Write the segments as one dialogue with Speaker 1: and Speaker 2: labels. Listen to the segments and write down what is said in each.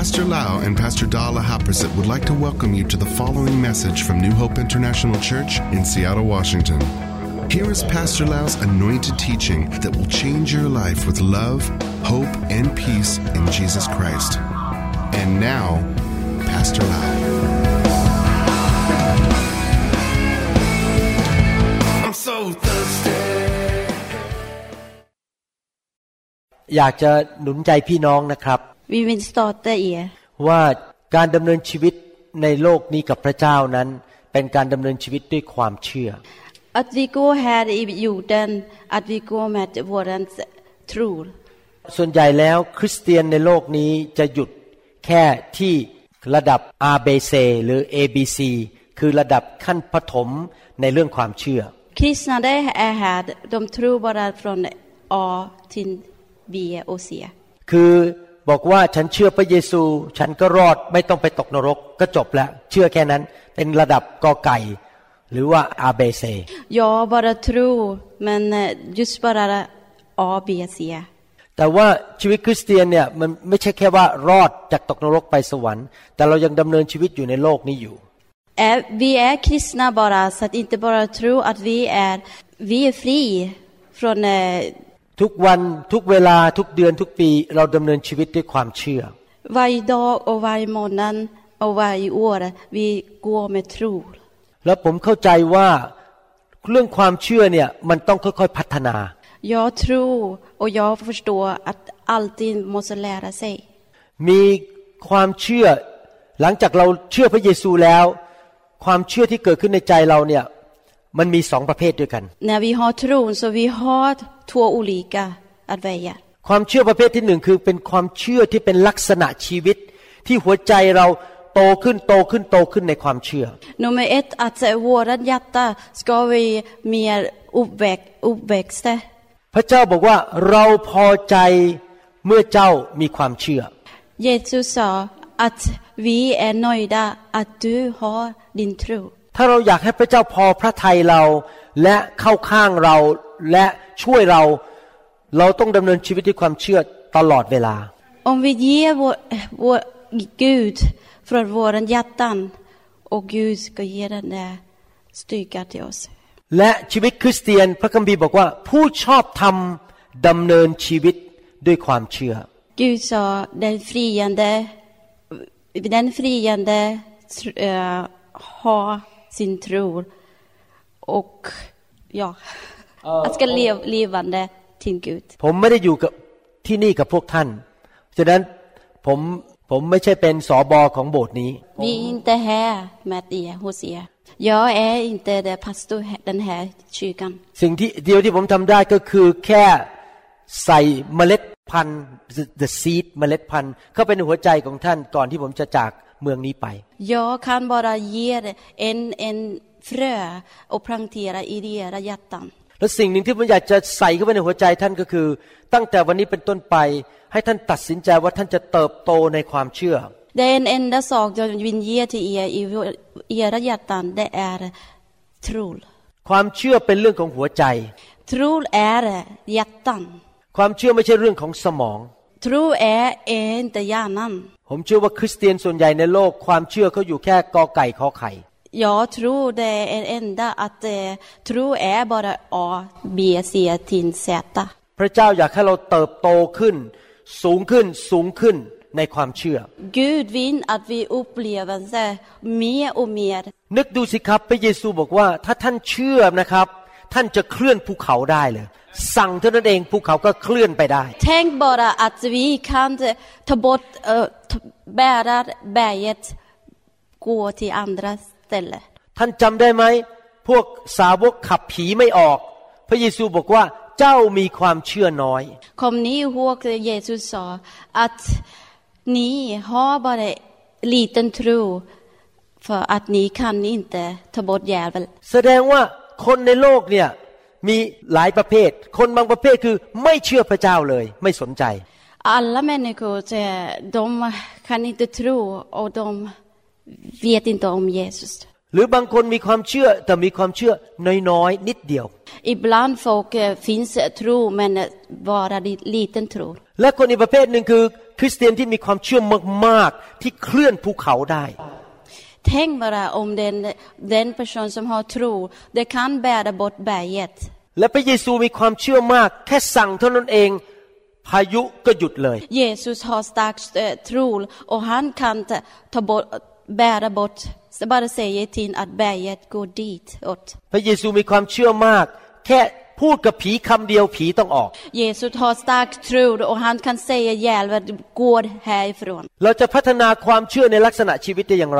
Speaker 1: Pastor Lau and Pastor Dala Haprasit would like to welcome you to the following message from New Hope International Church in Seattle, Washington. Here is Pastor Lau's anointed teaching that will change your life with love, hope, and peace in Jesus Christ. And now, Pastor Lau. I'm so thirsty.
Speaker 2: อยากจะหนุนใจพี่น้องนะครับ
Speaker 3: Vi vill starta er
Speaker 2: ว่าการดำเนินชีวิตในโลกนี้กับพระเจ้านั้นเป็นการดำเนินชีวิตด้วยความเชื่อ
Speaker 3: att vi går här i jorden, att vi går med våran tro.
Speaker 2: ส่วนใหญ่แล้วคริสเตียนในโลกนี้จะหยุดแค่ที่ระดับ ABC หรือ ABC คือระดับขั้นประถมในเรื่องความเชื่อ
Speaker 3: Kristna det är här, de tror bara från A till B och C.
Speaker 2: คือบอกว่าฉันเชื่อพระเยซูฉันก็รอดไม่ต้องไปตกนรกก็จบแล้วเชื่อแค่นั้นเป็นระดับกอไก่หรือว่า ABC.
Speaker 3: Jag bara tror, men just bara A, B, C.
Speaker 2: แต่ว่าชีวิตคริสเตียนเนี่ยมันไม่ใช่แค่ว่ารอดจากตกนรกไปสวรรค์แต่เรายังดำเนินชีวิตอยู่ในโลกนี้อยู่
Speaker 3: Vi är kristna bara, så att inte bara tro att vi är fri från
Speaker 2: ทุกวันทุกเวลาทุกเดือนทุกปีเราดำเนินชีวิตด้วยความเชื่อ
Speaker 3: Varje dag och varje månad och varje år vi går med tro.
Speaker 2: แล้วผมเข้าใจว่าเรื่องความเชื่อเนี่ยมันต้องค่อยๆพัฒนา
Speaker 3: Jag tror och jag förstår att alltid måste lära sig.
Speaker 2: มีความเชื่อหลังจากเราเชื่อพระเยซูแล้วความเชื่อที่เกิดขึ้นในใจเราเนี่ยมันมี2ประเภทด้วยกัน
Speaker 3: När vi har tron så vi har två olika att välja.
Speaker 2: ความเชื่อประเภทที่1คือเป็นความเชื่อที่เป็นลักษณะชีวิตที่หัวใจเราโตขึ้นในความเชื่อ
Speaker 3: Nummer 1 att vårat hjärta ska vi mer uppväxta.
Speaker 2: พระเจ้าบอกว่าเราพอใจเมื่อเจ้ามีความเชื่อ
Speaker 3: Jesus sa att vi är nöjda att du har din tro.
Speaker 2: ถ้าเราอยากให้พระเจ้าพอพระทัยเราและเข้าข้างเราและช่วยเราต้องดำเนินชีวิตด้วยความเชื่อตลอดเวลา
Speaker 3: Om vi ger vår Gud från våran hjärtan och Gud ska ge den där styrka till oss.
Speaker 2: และชีวิตคริสเตียนพระคัมภีร์บอกว่าผู้ชอบธรรมดำเนินชีวิตด้วยความเชื่อ
Speaker 3: Gud sa den friande har sin tro och att ska levande till Gud.
Speaker 2: ผมไม่ได้อยู่กับที่นี่กับพวกท่านฉะนั้นผมไม่ใช่เป็นสบของโบสถ์นี้
Speaker 3: Vi är inte här med er hos er. Jag är inte det pastor den här kyrkan.
Speaker 2: สิ่งที่เดียวที่ผมทำได้ก็คือแค่ใส่เมล็ดพันธุ์ the seed เมล็ดพันธุ์เข้าไปในหัวใจของท่านก่อนที่ผมจะจากเมืองนี้ไป
Speaker 3: Jag kan bara ge en frö och plantera i era hjärtan.
Speaker 2: และสิ่งหนึ่งที่ผมอยากจะใส่เข้าไปในหัวใจท่านก็คือตั้งแต่วันนี้เป็นต้นไปให้ท่านตัดสินใจว่าท่านจะเติบโตในความเชื่อ
Speaker 3: Det är en enda sak jag vill ge till er i era hjärtan, det är tro.
Speaker 2: ความเชื่อเป็นเรื่องของหัวใจ
Speaker 3: Tro är hjärtan.
Speaker 2: ความเชื่อไม่ใช่เรื่องของสมอง
Speaker 3: Tro är inte hjärnan.
Speaker 2: ผมเชื่อว่าคริสเตียนส่วนใหญ่ในโลกความเชื่อเขาอยู่แค่กอไก่ขอไข่
Speaker 3: Jag tror det är enda att tro är bara A, B, C till Z.
Speaker 2: พระเจ้าอยากให้เราเติบโตขึ้นสูงขึ้นในความเชื่อ
Speaker 3: Gud vill att vi upplever mer och mer.
Speaker 2: นึกดูสิครับพระเยซูบอกว่าถ้าท่านเชื่อนะครับท่านจะเคลื่อนภูเขาได้เลยสั่งเท่านั้นเองภูเขาก็เคลื่อนไปได้
Speaker 3: Tänk bara att vi kan ta bort bära berget gå till andra ställen.
Speaker 2: ท่านจำได้ไหมพวกสาวกขับผีไม่ออกพระเยซูบอกว่าเจ้ามีความเชื่อน้อย
Speaker 3: Kom ni ihåg Jesus sa att ni har bara liten tro för att ni kan inte ta bort djävulen.
Speaker 2: แสดงว่าคนในโลกเนี่ยมีหลายประเภทคนบางประเภทคือไม่เชื่อพระเจ้าเลยไม่สนใจ
Speaker 3: Alla människor de kan inte tro och de vet inte om Jesus.
Speaker 2: หรือบางคนมีความเชื่อแต่มีความเชื่อน้อยๆนิดเดียว
Speaker 3: Ibland folk finns tro men bara liten tro.
Speaker 2: และคนอีกประเภทหนึ่งคือคริสเตียนที่มีความเชื่อมากๆที่เคลื่อนภูเขาได้
Speaker 3: Tänk bara om den person som har tro, det kan bära bort berget.
Speaker 2: และพระเยซูมีความเชื่อมากแค่สั่งเท่านั้นเองพายุก็หยุดเลย
Speaker 3: Jesus har stark tro och han kan bära bort, bara säga till att berget går dit åt.
Speaker 2: พระเยซูมีความเชื่อมากแค่พูดกับผีคำเดียวผีต้องออก
Speaker 3: Jesus har stark tro och han kan säga djävulen går härifrån.
Speaker 2: เราจะพัฒนาความเชื่อในลักษณะชีวิตได้อย่างไร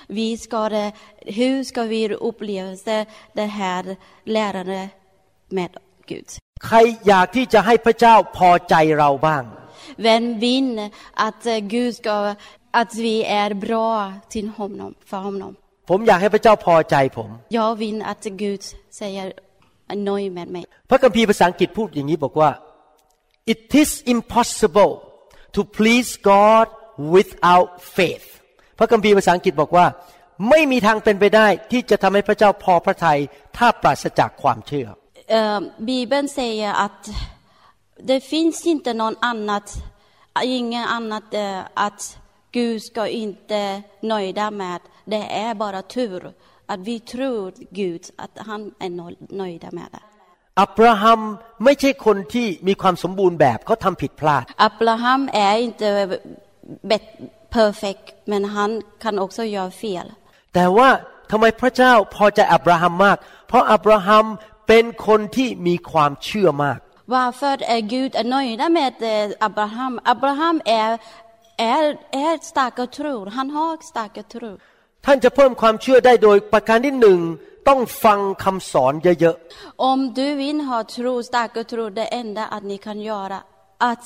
Speaker 3: Hur ska vi uppleva det här lärandet med Gud?
Speaker 2: ใครอยากที่จะให้พระเจ้าพอใจเราบ้าง
Speaker 3: Vem vill att Gud ska att vi är bra till honom för honom?
Speaker 2: ผมอยากให้พระเจ้าพอใจผม
Speaker 3: Jag vill att Gud säger nöjd med mig.
Speaker 2: พระคัมภีร์ภาษาอังกฤษพูดอย่างนี้บอกว่า It is impossible to please God without faith พระคัมภีร์ภาษาอังกฤษบอกว่าไม่มีทางเป็นไปได้ที่จะทำให้พระเจ้าพอพระทัยถ้าปราศจากความเชื่อ
Speaker 3: Bibeln säger att det finns inte ingen annat att Gud ska inte nöjda med. Det är bara tur att vi tror Gud att han är nöjda med det.
Speaker 2: อับราฮัมไม่ใช่คนที่มีความสมบูรณ์แบบเขาทำผิดพลาด
Speaker 3: Abraham är inte perfekt men han kan också göra fel.
Speaker 2: แต่ว่าทำไมพระเจ้าพอใจอับราฮัมมากเพราะอับราฮัมเป็นคนที่มีความเชื่อมาก
Speaker 3: Varför är Gud nöjd med Abraham? Abraham är stark tro. Han har stark tro.
Speaker 2: ท่านจะเพิ่มความเชื่อได้โดยประการที่หนึ่งต้องฟังคำสอนเยอะๆ
Speaker 3: Om du vill ha tro, stark tro, det enda att ni kan göra att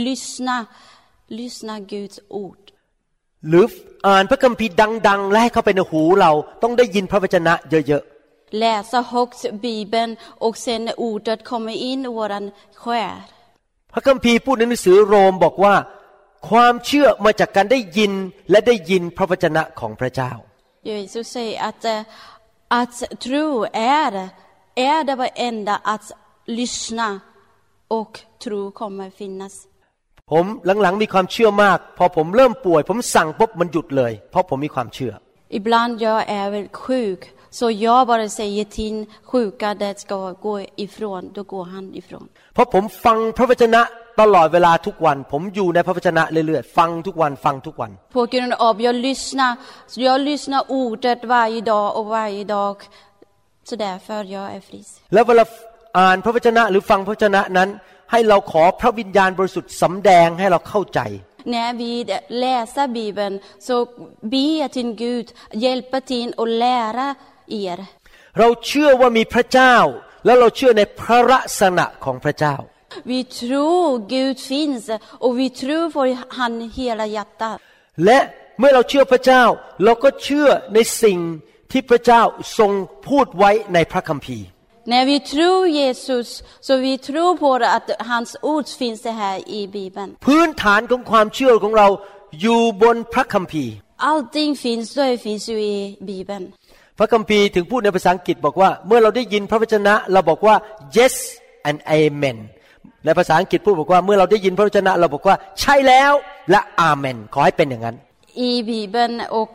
Speaker 3: lyssna Guds ord.
Speaker 2: หรืออ่านพระคัมภีร์ดังๆและให้เข้าไปในหูเราต้องได้ยินพระวจนะเยอะๆ
Speaker 3: Läsa högt Bibeln och sen ordet kommer in i våran själ.
Speaker 2: พระคัมภีร์พูดในหนังสือโรมบอกว่าความเชื่อมาจากการได้ยินและได้ยินพระวจนะของพระเจ้า
Speaker 3: Jesus säger att tro är det enda att lyssna och tro kommer finnas.
Speaker 2: ผมหลังๆมีความเชื่อมากพอผมเริ่มป่วยผมสั่งปุ๊บมันหยุดเลยเพราะผมมีความเชื่อ
Speaker 3: Ibland jag är väl sjuk så jag bara säger till sjuka det ska gå ifrån då går han ifrån.
Speaker 2: เพราะผมฟังพระวจนะตลอดเวลาทุกวันผมอยู่ในพระวจนะเรื่อยๆฟังทุกวัน
Speaker 3: På grund av jag lyssnar ordet varje dag så därför jag är frisk.
Speaker 2: แล้วเวลาอ่านพระวจนะหรือฟังพระวจนะนั้นให้เราขอพระวิญญาณบริสุทธิ์สำแดงให้เราเข้าใจ
Speaker 3: När vi läser Bibeln så be till Gud hjälpa till och lära er.
Speaker 2: เราเชื่อว่ามีพระเจ้าแล้วเราเชื่อในพระลักษณะของพระเจ้า
Speaker 3: Vi tror Gud finns och vi tror på han hela hjärtat.
Speaker 2: และเมื่อเราเชื่อพระเจ้าเราก็เชื่อในสิ่งที่พระเจ้าทรงพูดไว้ในพระคัมภีร์
Speaker 3: När vi tror Jesus så vi tror på att hans ord finns det här i Bibeln.
Speaker 2: พื้นฐานของความเชื่อของเราอยู่บนพระคัมภีร์
Speaker 3: Allting finns ju i Bibeln.
Speaker 2: พระคัมภีร์ถึงพูดในภาษาอังกฤษบอกว่าเมื่อเราได้ยินพระวจนะเราบอกว่า yes and amen ในภาษาอังกฤษพูดบอกว่าเมื่อเราได้ยินพระวจนะเราบอกว่าใช่แล้วและอาเมนขอให้เป็นอย่างนั้น
Speaker 3: I Bibeln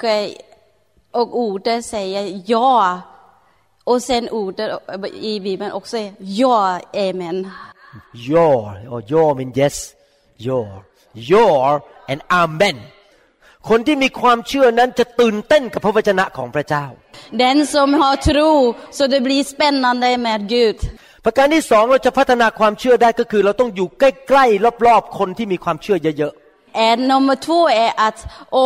Speaker 3: och ordet säger ja och sen ordet i Bibeln också ja amen.
Speaker 2: Your mean yes your and amen คนที่มีความเชื่อนั้นจะตื่นเต้นกับพระวจนะของพระเจ้า
Speaker 3: Den som har tro så det blir spännande med Gud.
Speaker 2: ประการที่สองเราจะพัฒนาความเชื่อได้ก็คือเราต้องอยู่ใกล้ๆรอบๆคนที่มีความเชื่อเยอะๆ
Speaker 3: Nummer 2 är att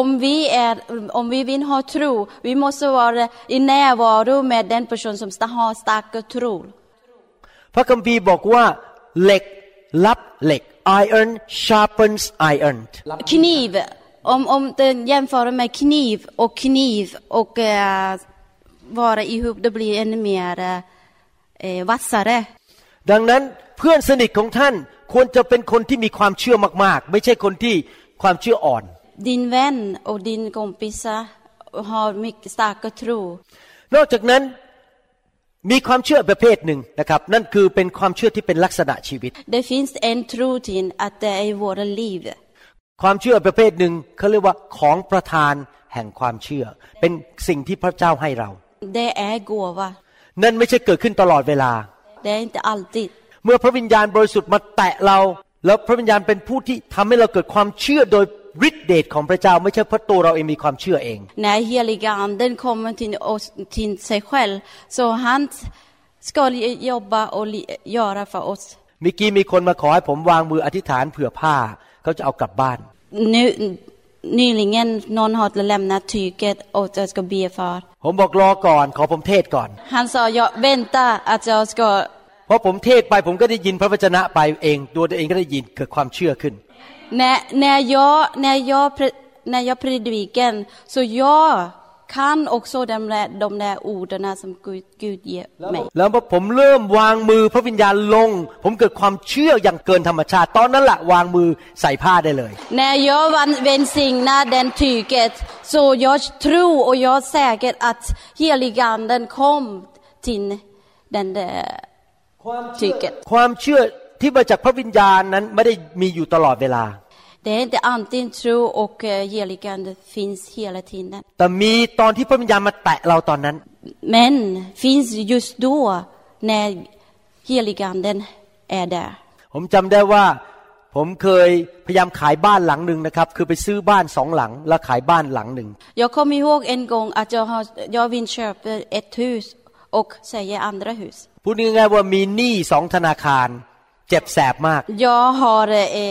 Speaker 3: om vi vill ha tro, vi måste vara i närvaro med den person som har stark tro.
Speaker 2: พระคัมภีร์บอกว่าเหล็กรับเหล็ก iron sharpens iron.
Speaker 3: Kniv, om den jämför med kniv och vara ihop det blir ännu mer vassare.
Speaker 2: ดังนั้นเพื่อนสนิทของท่านควรจะเป็นคนที่มีความเชื่อมากๆไม่ใช่คนที่ความเชื่ออ่อน
Speaker 3: Din vän och din kompis har mycket stark tro.
Speaker 2: นอกจากนั้นมีความเชื่อประเภทหนึ่งนะครับนั่นคือเป็นความเชื่อที่เป็นลักษณะชีวิต
Speaker 3: Det finns en tro till att det är våra liv.
Speaker 2: ความเชื่อประเภทหนึ่งเขาเรียกว่าของประทานแห่งความเชื่อเป็นสิ่งที่พระเจ้าให้เรา
Speaker 3: Det är gåva.
Speaker 2: นั่นไม่ใช่เกิดขึ้นตลอดเวลา
Speaker 3: Det är inte alltid.
Speaker 2: เมื่อพระวิญญาณบริสุทธิ์มาแตะเราแล้วพระวิญญาณเป็นผู้ที่ทำให้เราเกิดความเชื่อโดยฤทธิเดชของพระเจ้าไม่ใช่เพราะตัวเราเองมีความเชื่อเอง
Speaker 3: När heliga anden kommer till sig själv så han ska jobba och göra för oss.
Speaker 2: เมื่อกี้มีคนมาขอให้ผมวางมืออธิษฐานเผื่อผ้าเขาจะเอากลับบ้าน
Speaker 3: Nyligen någon har lämnat tyget och jag ska be för.
Speaker 2: ผมบอกรอก่อนขอผมเทศก่อน
Speaker 3: Han sa jag vänta att jag ska
Speaker 2: เพราะผมเทศไปผมก็ได้ยินพระวจนะไปเองตัวเองก็ได้ยินเกิดความเชื่อขึ้น
Speaker 3: när jag predikar så jag kan också de där orden som Gud ger mig.
Speaker 2: แล้วพอผมเริ่มวางมือพระวิญญาณลงผมเกิดความเชื่ออย่างเกินธรรมชาติตอนนั้นแหละวางมือใส่ผ้าได้เลย
Speaker 3: När jag välsignar den tyget så jag tror och jag är säker att heliganden kom till den där tyget.
Speaker 2: ความเชื่อที่มาจากพระวิญญาณนั้นไม่ได้มีอยู่ตลอดเวลา
Speaker 3: Det är inte antingen tro och heligande finns hela tiden.
Speaker 2: แต่มีตอนที่พระวิญญาณมาแตะเราตอนนั้น
Speaker 3: Men finns just då när heliganden är där.
Speaker 2: ผมจำได้ว่าผมเคยพยายามขายบ้านหลังหนึ่งนะครับคือไปซื้อบ้าน2หลังแล้วขายบ้านหลังหนึ่ง
Speaker 3: Jag kommer ihåg en gång att jag vill köpa ett hus och sälja andra hus.
Speaker 2: พูดง่ายๆว่ามีหนี้2ธนาคารเจ็บแสบมาก
Speaker 3: Jag har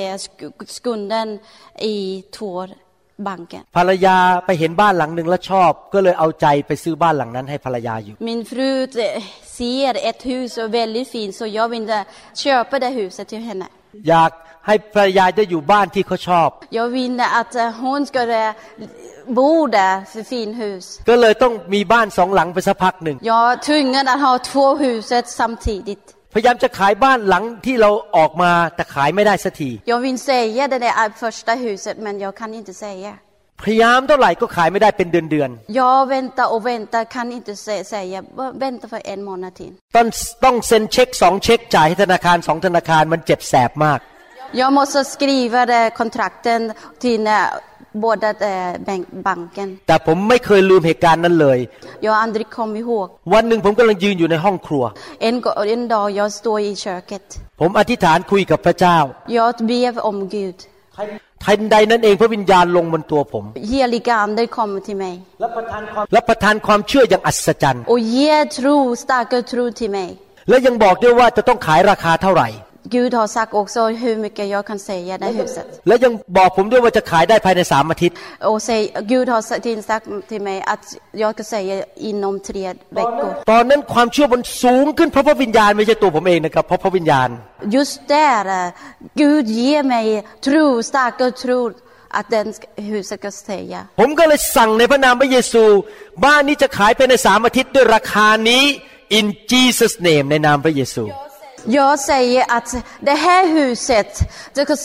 Speaker 3: skulden i två banker.
Speaker 2: ภรรยาไปเห็นบ้านหลังหนึ่งแล้วชอบก็เลยเอาใจไปซื้อบ้านหลังนั้นให้ภรรยาอยู่
Speaker 3: Min fru ser ett hus och väldigt fint så jag vill köpa det huset till henne.
Speaker 2: อยากให้ภรรยาได้อยู่บ้านที่เขาชอบ
Speaker 3: Jag vill att hon ska bo där för fin hus.
Speaker 2: ก็เลยต้องมีบ้าน2หลังไปสักพักหนึ่ง
Speaker 3: Jag tvungen att ha två huset samtidigt.
Speaker 2: พยายามจะขายบ้านหลังที่เราออกมาแต่ขายไม่ได้สักที
Speaker 3: Jag vill säga det där första huset men jag kan inte säga.
Speaker 2: พยายามเท่าไหร่ก็ขายไม่ได้เป็นเดือน
Speaker 3: Jag väntar och väntar kan inte säga vänta för en månad till.
Speaker 2: ต้องเซ็นเช็ค2เช็คจ่ายให้ธนาคาร2ธนาคารมันเจ็บแสบมาก
Speaker 3: Jag måste skriva kontrakten till båda banken.
Speaker 2: แต่ผมไม่เคยลืมเหตุการณ์นั้นเลย
Speaker 3: Jag har aldrig kommit ihåg.
Speaker 2: วันหนึ่งผมกำลังยืนอยู่ในห้องครัว
Speaker 3: En dag jag står i köket.
Speaker 2: ผมอธิษฐานคุยกับพระเจ้า
Speaker 3: Jag ber om Gud.
Speaker 2: ทันใดนั้นเองพระวิญญาณลงบนตัวผม
Speaker 3: Heliga ande kommer till mig.
Speaker 2: และประทานความเชื่ออย่างอัศจรรย์
Speaker 3: Och ger tro, starkare tro till mig.
Speaker 2: และยังบอกด้วยว่าจะต้องขายราคาเท่าไหร่
Speaker 3: Gud har sagt också hur mycket jag kan säga det huset.
Speaker 2: และยังบอกผมด้วยว่าจะขายได้ภายใน3อาทิตย์
Speaker 3: Och Gud har sagt till mig att jag ska säga inom 3 veckor.
Speaker 2: ตอนนั้นความเชื่อมันสูงขึ้นเพราะพระวิญญาณไม่ใช่ตัวผมเองนะครับเพราะพระวิญญาณ
Speaker 3: Just där Gud ger mig tro, starkare tro att den huset ska säga.
Speaker 2: ผมก็เลยสั่งในพระนามพระเยซูบ้านนี้จะขายภายใน3อาทิตย์ด้วยราคานี้ in Jesus name ในนามพระเยซู
Speaker 3: Jag säger att det här huset du ska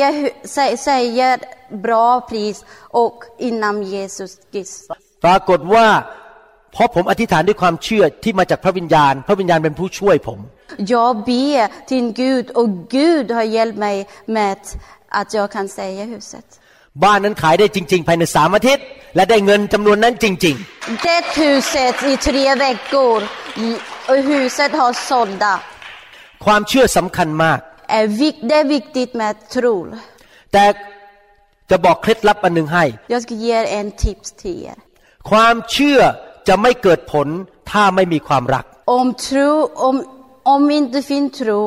Speaker 3: säga bra pris och innan Jesus Kristus.
Speaker 2: ปรากฏว่าเพราะผมอธิษฐานด้วยความเชื่อที่มาจากพระวิญญาณเป็นผู้ช่วยผม
Speaker 3: Jag ber till Gud och Gud har hjälpt mig med att jag kan säga huset.
Speaker 2: บ้านนั้นขายได้จริงๆภายใน3อาทิตย์และได้เงินจำนวนนั้นจริง
Speaker 3: Det huset i 3 veckor och huset har sålda.
Speaker 2: ๆความเชื่อสำคัญมาก
Speaker 3: Det är viktigt med tro.
Speaker 2: แต่จะบอกเคล็ดลับอันนึงให้
Speaker 3: Jag ska ge en tips till er.
Speaker 2: ความเชื่อจะไม่เกิดผลถ้าไม่มีความรัก
Speaker 3: Om inte finns tro,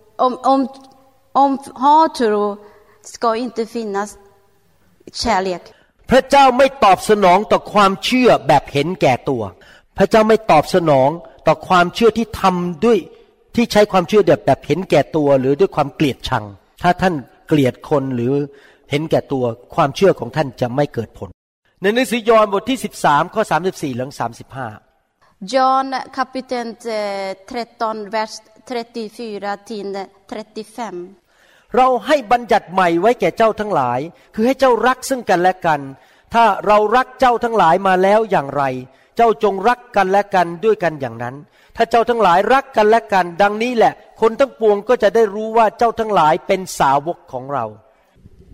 Speaker 3: om har tro ska inte finnas kärlek.
Speaker 2: พระเจ้าไม่ตอบสนองต่อความเชื่อแบบเห็นแก่ตัวพระเจ้าไม่ตอบสนองต่อความเชื่อที่ทำด้วยที่ใช้ความเชื่อแบบเห็นแก่ตัวหรือด้วยความเกลียดชังถ้าท่านเกลียดคนหรือเห็นแก่ตัวความเชื่อของท่านจะไม่เกิดผลในหนังสือยอห์นบทที่13ข้อ34ถึง35
Speaker 3: John kapitel 13 vers 34 till 35
Speaker 2: เราให้บัญญัติใหม่ไว้แก่เจ้าทั้งหลายคือให้เจ้ารักซึ่งกันและกันถ้าเรารักเจ้าทั้งหลายมาแล้วอย่างไรเจ้าจงรักกันและกันด้วยกันอย่างนั้นถ้าเจ้าทั้งหลายรักกันและกันดังนี้แหละคนทั้งปวงก็จะได้รู้ว่าเจ้าทั้งหลายเป็นสาวกของเรา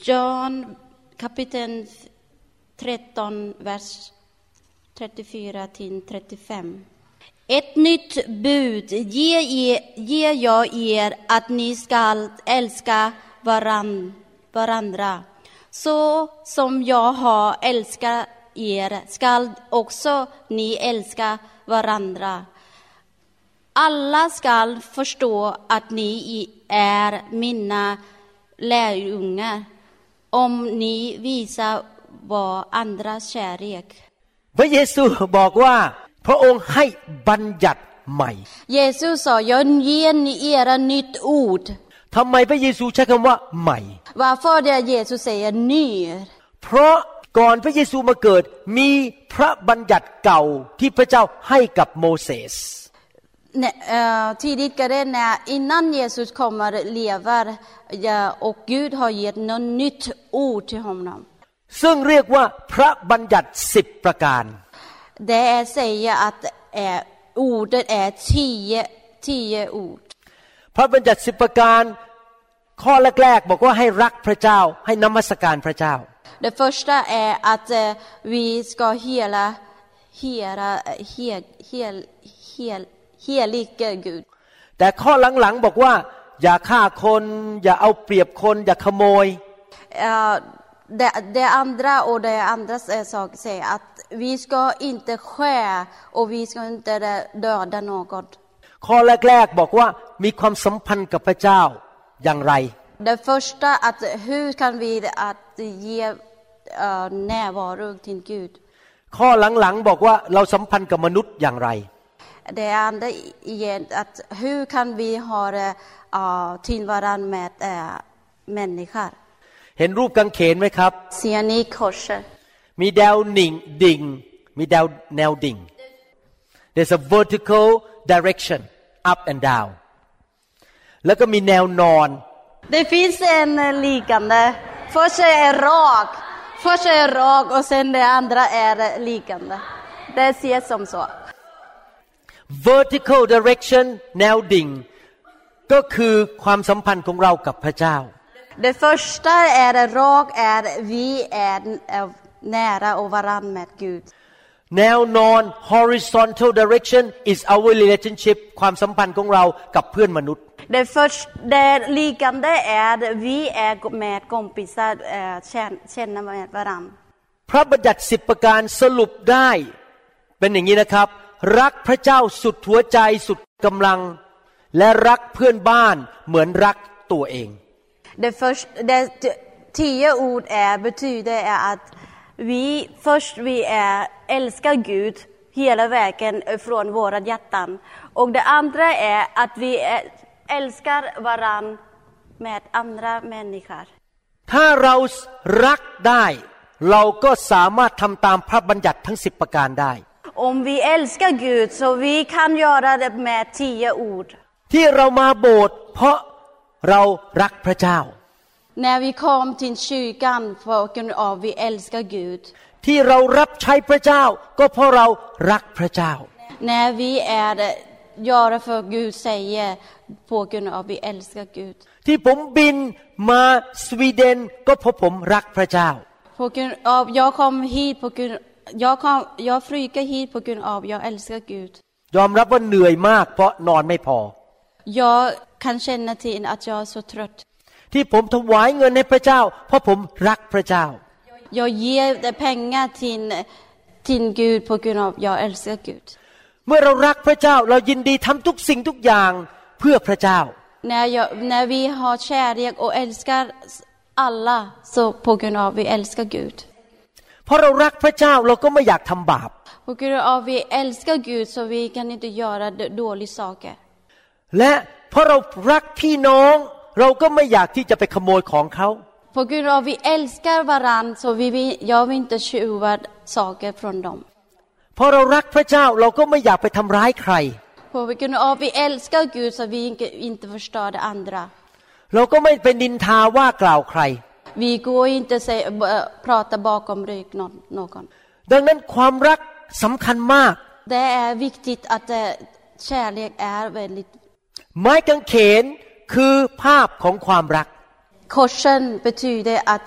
Speaker 3: John kapitel 13 vers 34 till 35. Ett nytt bud ger jag er, att ni skall älska varandra. Så som jag har älskat er skall också ni älska varandra. Alla skall förstå att ni är mina lärjungar om ni visar varandras kärlek.
Speaker 2: พระเยซูบอกว่าพระองค์ให้บัญญัติใหม่
Speaker 3: Jesus sa, jag ger er ett nytt ord.
Speaker 2: ทำไมพระเยซูใช้คำว่าใหม่
Speaker 3: Varför det Jesus säger ny?
Speaker 2: เพราะก่อนพระเยซูมาเกิดมีพระบัญญัติเก่าที่พระเจ้าให้กับโมเสส
Speaker 3: Tidigare innan Jesus kommer lever och Gud har gett något nytt ord till honom.
Speaker 2: ซึ่งเรียกว่าพระบัญญัติ10ประการ
Speaker 3: Det säger att ordet är 10 ord.
Speaker 2: พระบัญญัติ10ประการข้อแรกๆบอกว่าให้รักพระเจ้าให้นมัสการพระเจ้า
Speaker 3: Det första är att vi ska heliga Gud.
Speaker 2: แต่ข้อหลังๆบอกว่าอย่าฆ่าคนอย่าเอาเปรียบคนอย่าขโมย
Speaker 3: Det andra sak säger att vi ska inte stjäla och vi ska inte döda någon.
Speaker 2: ข้อแรกๆบอกว่ามีความสัมพันธ์กับพระเจ้าอย่างไร
Speaker 3: Det första att hur kan vi att ge närvaro till Gud.
Speaker 2: ข้อหลังๆบอกว่าเราสัมพันธ์กับมนุษย์อย่างไร
Speaker 3: Det andra är att hur kan vi ha till varandra med människor.
Speaker 2: เห็นรูปกางเขนไหมครับ
Speaker 3: Ser ni korset?
Speaker 2: มีแนวดิ่งมีแนวดิ่ง There's a vertical direction up and down แล้วก็มีแนวนอน
Speaker 3: Det finns en liggande. Först är rak och sen det andra är liggande. Det ser som så.
Speaker 2: Vertical direction แนวดิ่งก็คือความสัมพันธ์ของเรากับพระเจ้า
Speaker 3: Det första är rak är vi är nära och varann med Gud.
Speaker 2: แนวนอน horizontal direction is our relationship ความสัมพันธ์ของเรากับเพื่อนมนุษย์
Speaker 3: Det liggande är vi är med kompisar känner med varann.
Speaker 2: พระบัญญัติ10ประการสรุปได้เป็นอย่างนี้นะครับรักพระเจ้าสุดหัวใจสุดกำลังและรักเพื่อนบ้านเหมือนรักตัวเอง
Speaker 3: Det 10 ord betyder att vi älskar Gud hela vägen från våra hjärtan. Och det andra är att vi älskar varann med andra människor.
Speaker 2: ถ้าเรารักได้เราก็สามารถทำตามพระบัญญัติทั้ง10ประการได้
Speaker 3: Om vi älskar Gud så vi kan göra det med 10 ord.
Speaker 2: ที่เรามาโบสถ์เพราะเรารักพระเจ้า
Speaker 3: När vi kom till kyrkan på grund av vi älskar Gud.
Speaker 2: ที่เรารับใช้พระเจ้าก็เพราะเรารักพระเจ้า
Speaker 3: När vi gör för Gud säger på grund av vi älskar Gud.
Speaker 2: ที่ผมบินมาสวีเดนก็เพราะผมรักพระเจ้า
Speaker 3: På grund av jag kom hit på grund jag flyger hit på grund av jag älskar Gud.
Speaker 2: ยอมรับว่าเหนื่อยมากเพราะนอนไม่พอ
Speaker 3: Jag kan känna till att jag är så trött.
Speaker 2: ที่ผมถวายเงินให้พระเจ้าเพราะผมรักพระเจ้า
Speaker 3: Jag ger pengar till Gud på grund av jag älskar Gud.
Speaker 2: เมื่อเรารักพระเจ้าเรายินดีทำทุกสิ่งทุกอย่างเพื่อพระเจ้า
Speaker 3: När vi har kärlek och älskar alla så på grund av vi älskar Gud.
Speaker 2: เพราะเรารักพระเจ้าเราก็ไม่อยากทำบาป
Speaker 3: På grund av vi älskar Gud så vi kan inte göra dåliga saker.
Speaker 2: และเพราะเรารักพี่น้องเราก็ไม่อยากที่จะไปขโมยของเขา
Speaker 3: På grund av vi älskar varann så jag vill inte tjuva saker från dem.
Speaker 2: เพราะเรารักพระเจ้าเราก็ไม่อยากไปทำร้ายใคร
Speaker 3: På grund av vi älskar Gud så vi inte förstör det andra.
Speaker 2: เราก็ไม่ไปนินทาว่ากล่าวใคร
Speaker 3: Vi går inte prata bakom rygg någon.
Speaker 2: ดังนั้นความรักสำคัญมาก
Speaker 3: Det är viktigt att kärlek är väldigt.
Speaker 2: ไม้กางเขนคือภาพของความรัก
Speaker 3: Korsen betyder att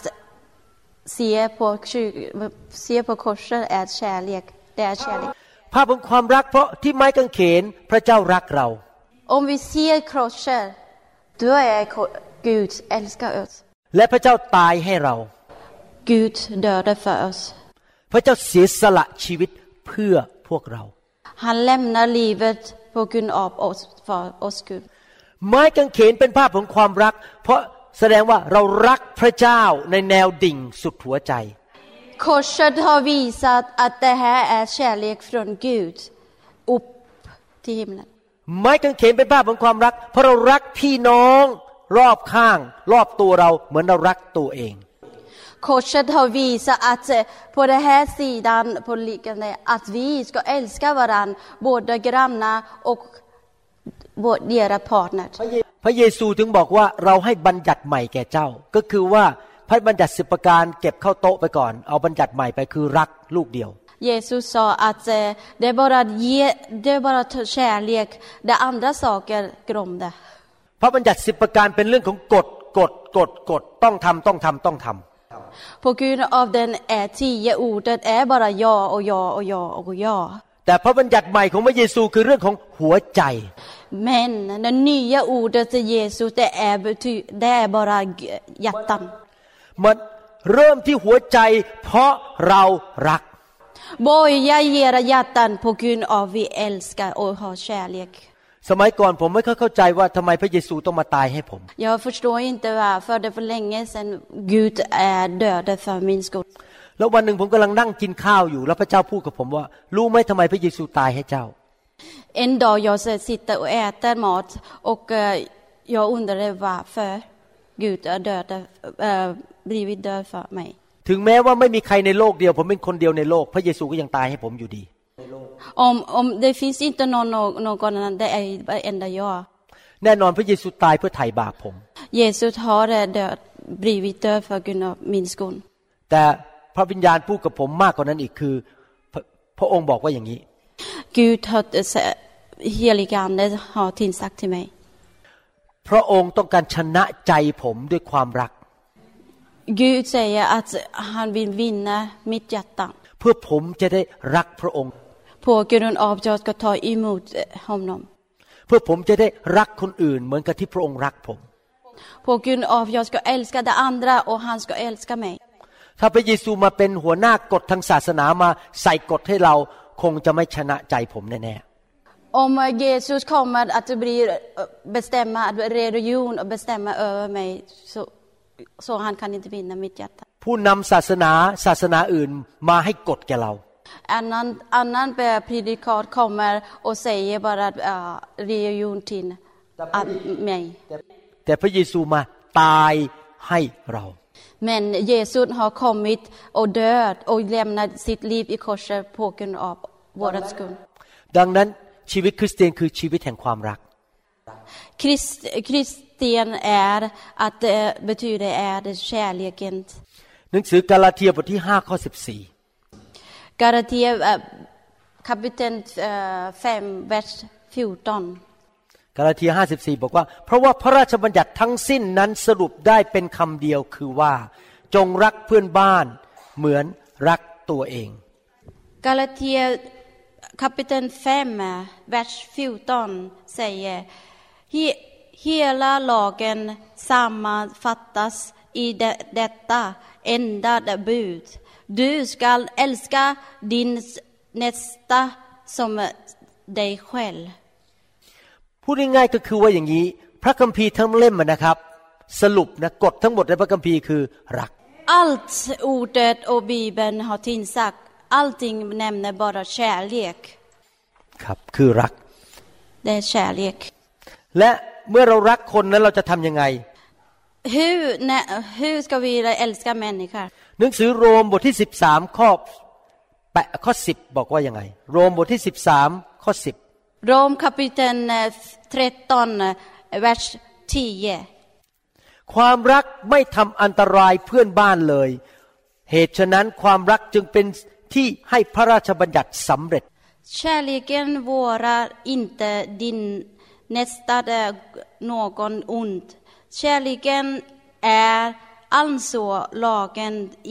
Speaker 3: se på korset är kärlek. Det är kärlek.
Speaker 2: ภาพของความรักเพราะที่ไม้กางเขนพระเจ้ารักเรา
Speaker 3: Om vi ser korset, då är Gud älskar oss.
Speaker 2: และพระเจ้าตายให้เรา
Speaker 3: Gud dödade för oss.
Speaker 2: พระเจ้าเสียสละชีวิตเพื่อพวกเรา
Speaker 3: Han lämnar livet på grund av oss för oss Gud.
Speaker 2: ไม้กางเขนเป็นภาพของความรักเพราะแสดงว่าเรารักพระเจ้าในแนวดิ่งสุดหัวใจ
Speaker 3: Korset har visat att det här är kärlek från Gud upp till himlen.
Speaker 2: ไม้กางเขนเป็นภาพของความรักเพราะเรารักพี่น้องรอบข้างรอบตัวเราเหมือนเรารักตัวเอง
Speaker 3: Korset har visat att på den här sidan på liknande att vi ska älska varandra, både grannar och deras partner.
Speaker 2: พระเยซูถึงบอกว่าเราให้บัญญัติใหม่แก่เจ้าก็คือว่าพระบัญญัติ10ประการเก็บเข้าโต๊ะไปก่อนเอาบัญญัติใหม่ไปคือรักลูกเดียว
Speaker 3: Jesus sa att det är bara kärlek, det andra saker glömde.
Speaker 2: พระบัญญัติ10ประการเป็นเรื่องของกฎต้องทำ
Speaker 3: På grund av den 10 ordet är bara ja och ja och ja och ja.
Speaker 2: แต่พระบัญญัติใหม่ของพระเยซูคือเรื่องของหัวใจ
Speaker 3: Men det nya ordet till Jesus det är bara hjärtan.
Speaker 2: มันเริ่มที่หัวใจเพราะเรารัก
Speaker 3: Börja era hjärtan på grund av vi älskar och har kärlek.
Speaker 2: สมัยก่อนผมไม่เข้าใจว่าทำไมพระเยซูต้องมาตายให้ผม
Speaker 3: Jag förstår inte varför det för länge sedan Gud är död för min skull.
Speaker 2: แล้ววันหนึ่งผมกำลังนั่งกินข้าวอยู่แล้วพระเจ้าพูดกับผมว่ารู้ไหมทำไมพระเยซูตายให้เจ้า
Speaker 3: En dag jag sitter och äter mat och jag undrade varför Gud är död blivit död för mig.
Speaker 2: ถึงแม้ว่าไม่มีใครในโลกเดียวผมเป็นคนเดียวในโลกพระเยซูก็ยังตายให้ผมอยู่ดี
Speaker 3: Om det finns inte någon annan, det är enda jag.
Speaker 2: แน่นอนพระเยซูตายเพื่อไถ่บาปผม
Speaker 3: Jesus har blivit död för grund av min skull.
Speaker 2: แต่พระวิญญาณพูดกับผมมากกว่านั้นอีกคือพระองค์บอกว่าอย่างนี้
Speaker 3: Gud har heliga ande har tillsagt till mig.
Speaker 2: พระองค์ต้องการชนะใจผมด้วยความรัก
Speaker 3: Gud säger att han vill vinna mitt hjärta.
Speaker 2: เพื่อผมจะได้รักพระองค์
Speaker 3: På grund av att jag ska ta emot honom.
Speaker 2: เพื่อผมจะได้รักคนอื่นเหมือนกับที่พระองค์รักผม
Speaker 3: På grund av att jag ska älska de andra och han ska älska mig.
Speaker 2: ถ้าพระเยซูมาเป็นหัวหน้ากฎทางศาสนามาใส่กฎให้เราคงจะไม่ชนะใจผมแน่ๆ
Speaker 3: Om Jesus kommer att bestämma religion och bestämma över mig så han kan inte vinna mitt hjärta.
Speaker 2: ผู้นำศาสนาอื่นมาให้กฎแก่เรา
Speaker 3: Annan predikat kommer och säger bara religion till mig.
Speaker 2: แต่พระเยซูมาตายให้เรา
Speaker 3: Men Jesus har kommit och död och lämnat sitt liv i korset på grund av våran skull.
Speaker 2: ดังนั้นชีวิตคริสเตียนคือชีวิตแห่งความรัก
Speaker 3: Kristen är att det betyder är det kärleken.
Speaker 2: หนังสือกาลาเทียบทที่5ข้อ14
Speaker 3: Galatia kapitel 5 vers 14.
Speaker 2: กาลาเทีย 5:14 บอกว่าเพราะว่าพระราชบัญญัติทั้งสิ้นนั้นสรุปได้เป็นคำเดียวคือว่าจงรักเพื่อนบ้านเหมือนรักตัวเอง
Speaker 3: Galatia kapitel 5 vers 14 säger hela lagen sammanfattas i detta enda bud. Du skall älska din nästa som dig själv.
Speaker 2: พูดง่ายๆก็คือว่าอย่างนี้พระคัมภีร์ทั้งเล่มนะครับสรุปนะกฎทั้งหมดในพระคัมภีร์คือรัก
Speaker 3: Allt ordet och Bibeln har tillsagt. Allting nämner bara kärlek.
Speaker 2: ครับคือรัก
Speaker 3: Det är kärlek.
Speaker 2: และเมื่อเรารักคนนั้นเราจะทำยังไง
Speaker 3: Hur ska vi älska människor?
Speaker 2: หนังสือโรมบทที่13ข้อ10บอกว่ายังไงโรมบทที่13ข้อ10
Speaker 3: Rom kapitel 13 vers 10.
Speaker 2: ความรักไม่ทำอันตรายเพื่อนบ้านเลยเหตุฉะนั้นความรักจึงเป็นที่ให้พระราชบัญญัติสำเร็จ
Speaker 3: Kärleken vårar inte din nästa någon ont. Kärleken är alltså lagen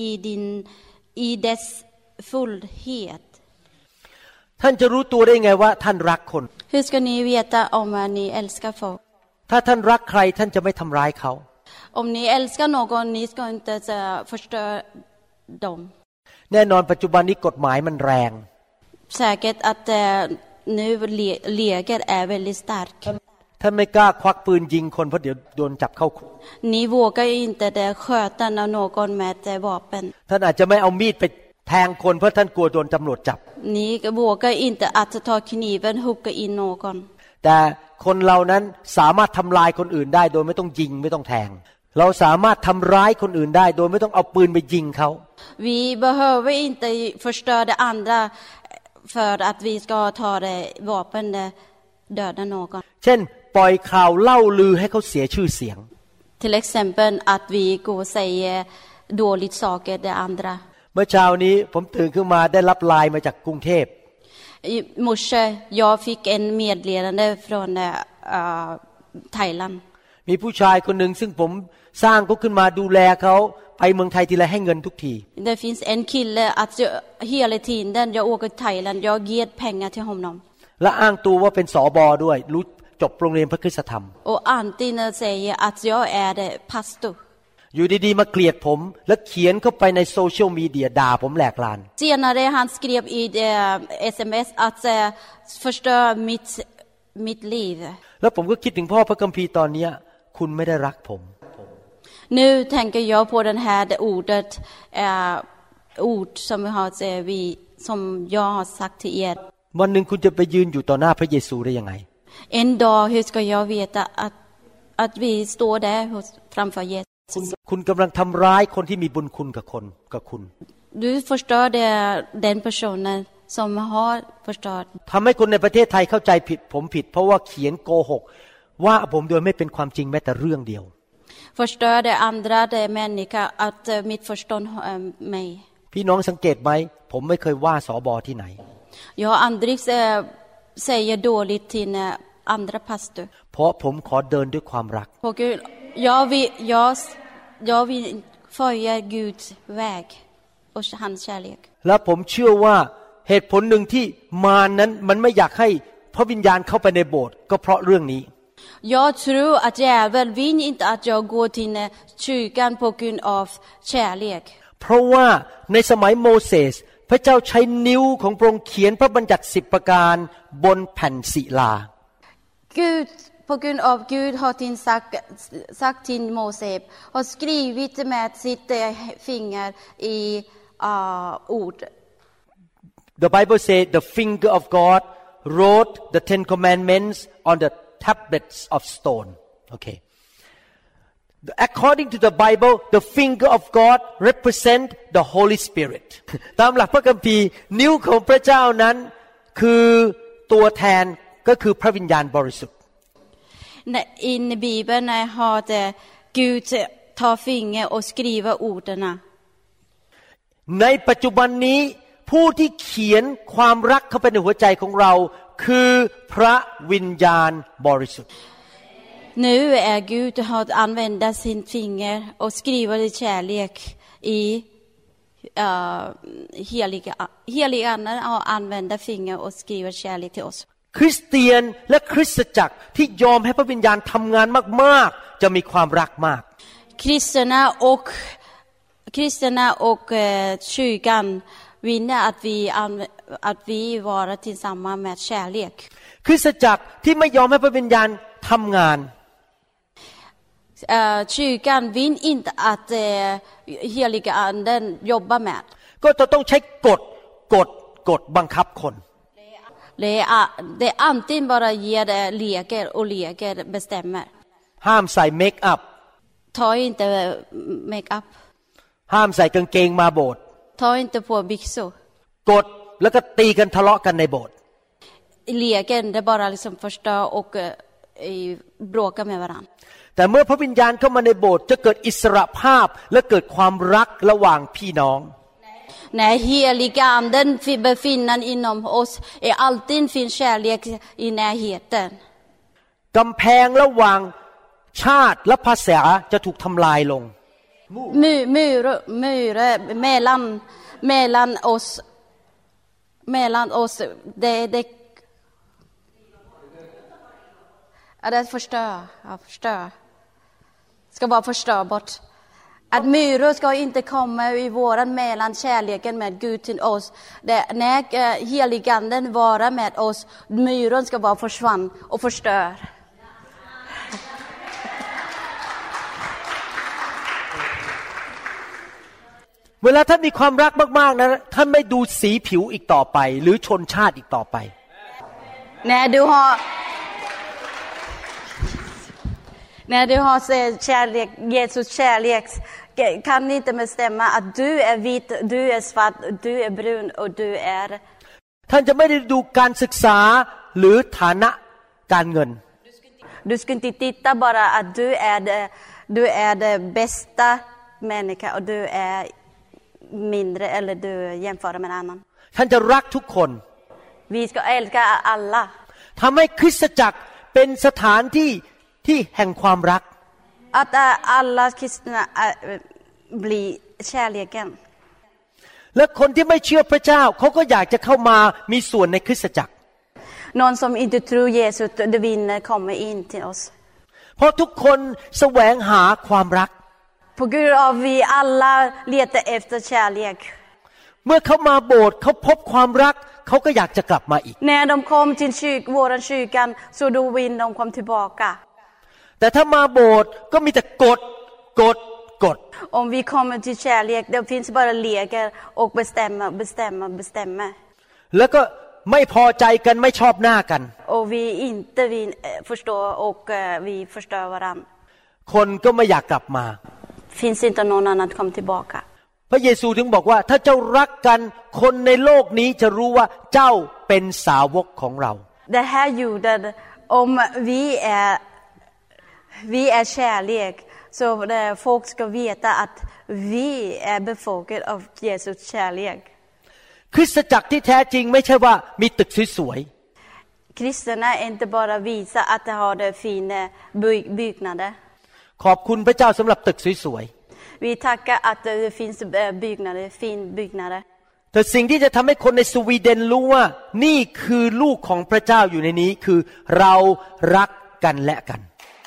Speaker 3: i dess fullhet.
Speaker 2: ท่านจะรู้ตัวได้ไงว่าท่านรักคน
Speaker 3: Hur ska ni veta om ni älskar folk?
Speaker 2: ถ้าท่านรักใครท่านจะไม่ทำร้ายเขา
Speaker 3: Om ni älskar någon, ni ska inte förstöra dem.
Speaker 2: แน่นอนปัจจุบันนี้กฎหมายมันแรง
Speaker 3: Säkert att nu läget är väldigt starkt.
Speaker 2: ท่านไม่กล้าควักปืนยิงคนเพราะเดี๋ยวโดนจับเข้าคุก
Speaker 3: Ni vågar inte sköta någon med vapen.
Speaker 2: ท่านอาจจะไม่เอามีดไปแทงคนเพราะท่านกลัวโดนตำรวจจับ
Speaker 3: Ni vågar inte att ta kniven hugga in någon.
Speaker 2: แต่คนเรานั้นสามารถทำลายคนอื่นได้โดยไม่ต้องยิงไม่ต้องแทงเราสามารถทำร้ายคนอื่นได้โดยไม่ต้องเอาปืนไปยิงเขา
Speaker 3: Vi behöver inte förstöra andra för att vi ska ta det vapen döda någon.
Speaker 2: เช่นปล่อยข่าวเล่าลือให้เขาเสียชื่อเสียง
Speaker 3: Till exempel att vi går och säger dåligt saker till andra.
Speaker 2: เมื่อเช้านี้ผมตื่นขึ้นมาได้รับไลน์มาจากกรุงเทพ
Speaker 3: I morse jag fick en meddelande från Thailand.
Speaker 2: มีผู้ชายคนหนึ่งซึ่งผมสร้างเขาขึ้นมาดูแลเขาไปเมืองไทยทีไรให้เงินทุกที
Speaker 3: Det finns en kille att hela tiden jag åker till Thailand jag ger pengar till honom.
Speaker 2: และอ้างตัวว่าเป็นสบด้วยรู้จบโรงเรียนพระคริสตธรรม
Speaker 3: Och antingen säger att jag är pastor.
Speaker 2: อยู่ดีๆมาเกลียดผมและเขียนเข้าไปในโซเชียลมีเดียด่าผมแหลกลาน
Speaker 3: Senare han skrev i SMS att förstöra mitt liv.
Speaker 2: แล้วผมก็คิดถึงพ่อพระคัมภีร์ตอนนี้คุณไม่ได้รักผม
Speaker 3: Nu tänker jag på den här ordet ord som som jag har sagt till er.
Speaker 2: วันหนึ่งคุณจะไปยืนอยู่ต่อหน้าพระเยซูได้ยังไง
Speaker 3: En dag hur ska jag veta att vi står där framför Jesus.
Speaker 2: คุณกำลังทำร้ายคนที่มีบุญคุณกับคุณ
Speaker 3: Du förstör den personen som har förstört.
Speaker 2: ทำให้คนในประเทศไทยเข้าใจผิดผมผิดเพราะว่าเขียนโกหกว่าผมโดยไม่เป็นความจริงแม้แต่เรื่องเดียว
Speaker 3: Förstör det andra människor att missförstå mig.
Speaker 2: พี่น้องสังเกตไหมผมไม่เคยว่าสบที่ไหน
Speaker 3: Jag har aldrig säger dåligt till andra pastor.
Speaker 2: เพราะผมขอเดินด้วยความรัก
Speaker 3: Jag vill följa Guds väg och hans kärlek.
Speaker 2: และผมเชื่อว่าเหตุผลหนึ่งที่มารนั้นมันไม่อยากให้พระวิญญาณเข้าไปในโบสถ์ก็เพราะเรื่องนี้
Speaker 3: Jag tror att djävulen vill inte att jag går till kyrkan på grund av kärlek.
Speaker 2: เพราะว่าในสมัยโมเสสพระเจ้าใช้นิ้วของพระองค์เขียนพระบัญญัติ10ประการบนแผ่นศิลา
Speaker 3: Gud på grund av Gud har sagt till Moses har skrivit med sitt finger i ord.
Speaker 2: The Bible says the finger of God wrote the 10 commandments on the tablets of stone. Okay. According to the Bible, the finger of God represent the Holy Spirit. ตามหลักพระคัมภีร์นิ้วของพระเจ้านั้นคือตัวแทนก็คือพระวิญญาณบริสุทธิ์
Speaker 3: I Bibeln har Gud ta finger och skriva orden.
Speaker 2: ในปัจจุบันนี้ผู้ที่เขียนความรักเข้าไปในหัวใจของเราคือพระวิญญาณบริสุทธิ์
Speaker 3: Nu är Gud har använda sin finger och skriva det kärlek i heliga anden har använda finger och skriva kärlek till oss.
Speaker 2: คริสเตียนและคริสตจักรที่ยอมให้พระวิญญาณทำงานมากๆจะมีความรักมาก
Speaker 3: Kristna och kyrkan vinner att vi vara tillsammans med kärlek.
Speaker 2: คริสตจักรที่ไม่ยอมให้พระวิญญาณทำงาน
Speaker 3: Kyrkan vill inte att heliga anden jobbar med.
Speaker 2: ก็จะต้องใช้กฎบังคับคน
Speaker 3: Det är antingen bara ger leker och leker bestämmer.
Speaker 2: ห้ามใส่เมคอัพ
Speaker 3: Ta inte make up.
Speaker 2: ห้ามใส่กางเกงมาโบสถ์
Speaker 3: Ta inte på byxor.
Speaker 2: กฎแล้วก็ตีกันทะเลาะกันในโบสถ์
Speaker 3: Leken det bara liksom förstör och bråka med varandra.
Speaker 2: แต่เมื่อพระวิญญาณเข้ามาในโบสถ์จะเกิดอิสรภาพและเกิดความรักระหว่างพี่น้อง
Speaker 3: När heliga anden befinner inom oss är alltid finns kärlek i närheten.
Speaker 2: กำแพงระหว่างชาติและภาษาจะถูกทำลายลง
Speaker 3: mellan oss det förstör ska vara förstörbart att myror ska inte komma i våran mellan kärleken med Gud till oss när heliganden vara med oss myron ska vara försvann och förstör
Speaker 2: เวลาท่านมีความรักมากๆนะท่านไม่ดูสีผิวอีกต่อไปหรือชนชาติอีกต่อไป
Speaker 3: När du har kärlek, Jesus kärlek kan inte bestämma att du är vit, du är svart, du är brun och du är
Speaker 2: ท่านจะไม่ได้ดูการศึกษาหรือฐานะการเงิน
Speaker 3: Du ska inte titta bara att du är det bästa människa och du är mindre eller du jämför med en annan
Speaker 2: ท่านจะรักทุกคน
Speaker 3: Vi ska älska alla
Speaker 2: ทำให้คริสตจักรเป็นสถานที่แห่งความรัก
Speaker 3: Att alla kristna blir kärleken
Speaker 2: และคนที่ไม่เชื่อพระเจ้าเขาก็อยากจะเข้ามามีส่วนในคริสตจักร
Speaker 3: Någon som inte tror Jesus det vinner kommer in till oss
Speaker 2: เพราะทุกคนแสวงหาความรัก
Speaker 3: På grund av vi alla letar efter kärlek
Speaker 2: เมื่อเขามาโบสถ์เขาพบความรักเขาก็อยากจะกลับมาอีก
Speaker 3: När de kom till våran kyrkan så då vill de komma tillbaka
Speaker 2: แต่ถ้ามาโบสถ์ก็มีแต่กด
Speaker 3: Om vi kommer till kärlek det finns bara leker och bestämma
Speaker 2: แล้วก็ไม่พอใจกันไม่ชอบหน้ากัน
Speaker 3: Och vi inte vill förstå och vi förstör varann
Speaker 2: คนก็ไม่อยากกลับมา
Speaker 3: Finns inte någon annan att komma tillbaka
Speaker 2: พระเยซูถึงบอกว่าถ้าเจ้ารักกันคนในโลกนี้จะรู้ว่าเจ้าเป็นสาวกของเรา
Speaker 3: Det här gjorde om vi är kärlek så folk ska veta att vi är befolkade av Jesus kärlek
Speaker 2: คริสตจักรที่แท้จริงไม่ใช่ว่ามีตึกสวย
Speaker 3: ๆ Kristna är inte bara visa att de har det fina byggnader
Speaker 2: ขอบคุณพระเจ้าสำหรับตึกสวย
Speaker 3: ๆ Vi tackar att det finns byggnader fin byggnader
Speaker 2: แต่สิ่งที่จะทำให้คนในสวีเดนรู้ว่านี่คือลูกของพระเจ้าอยู่ในนี้คือเรารักกันและกัน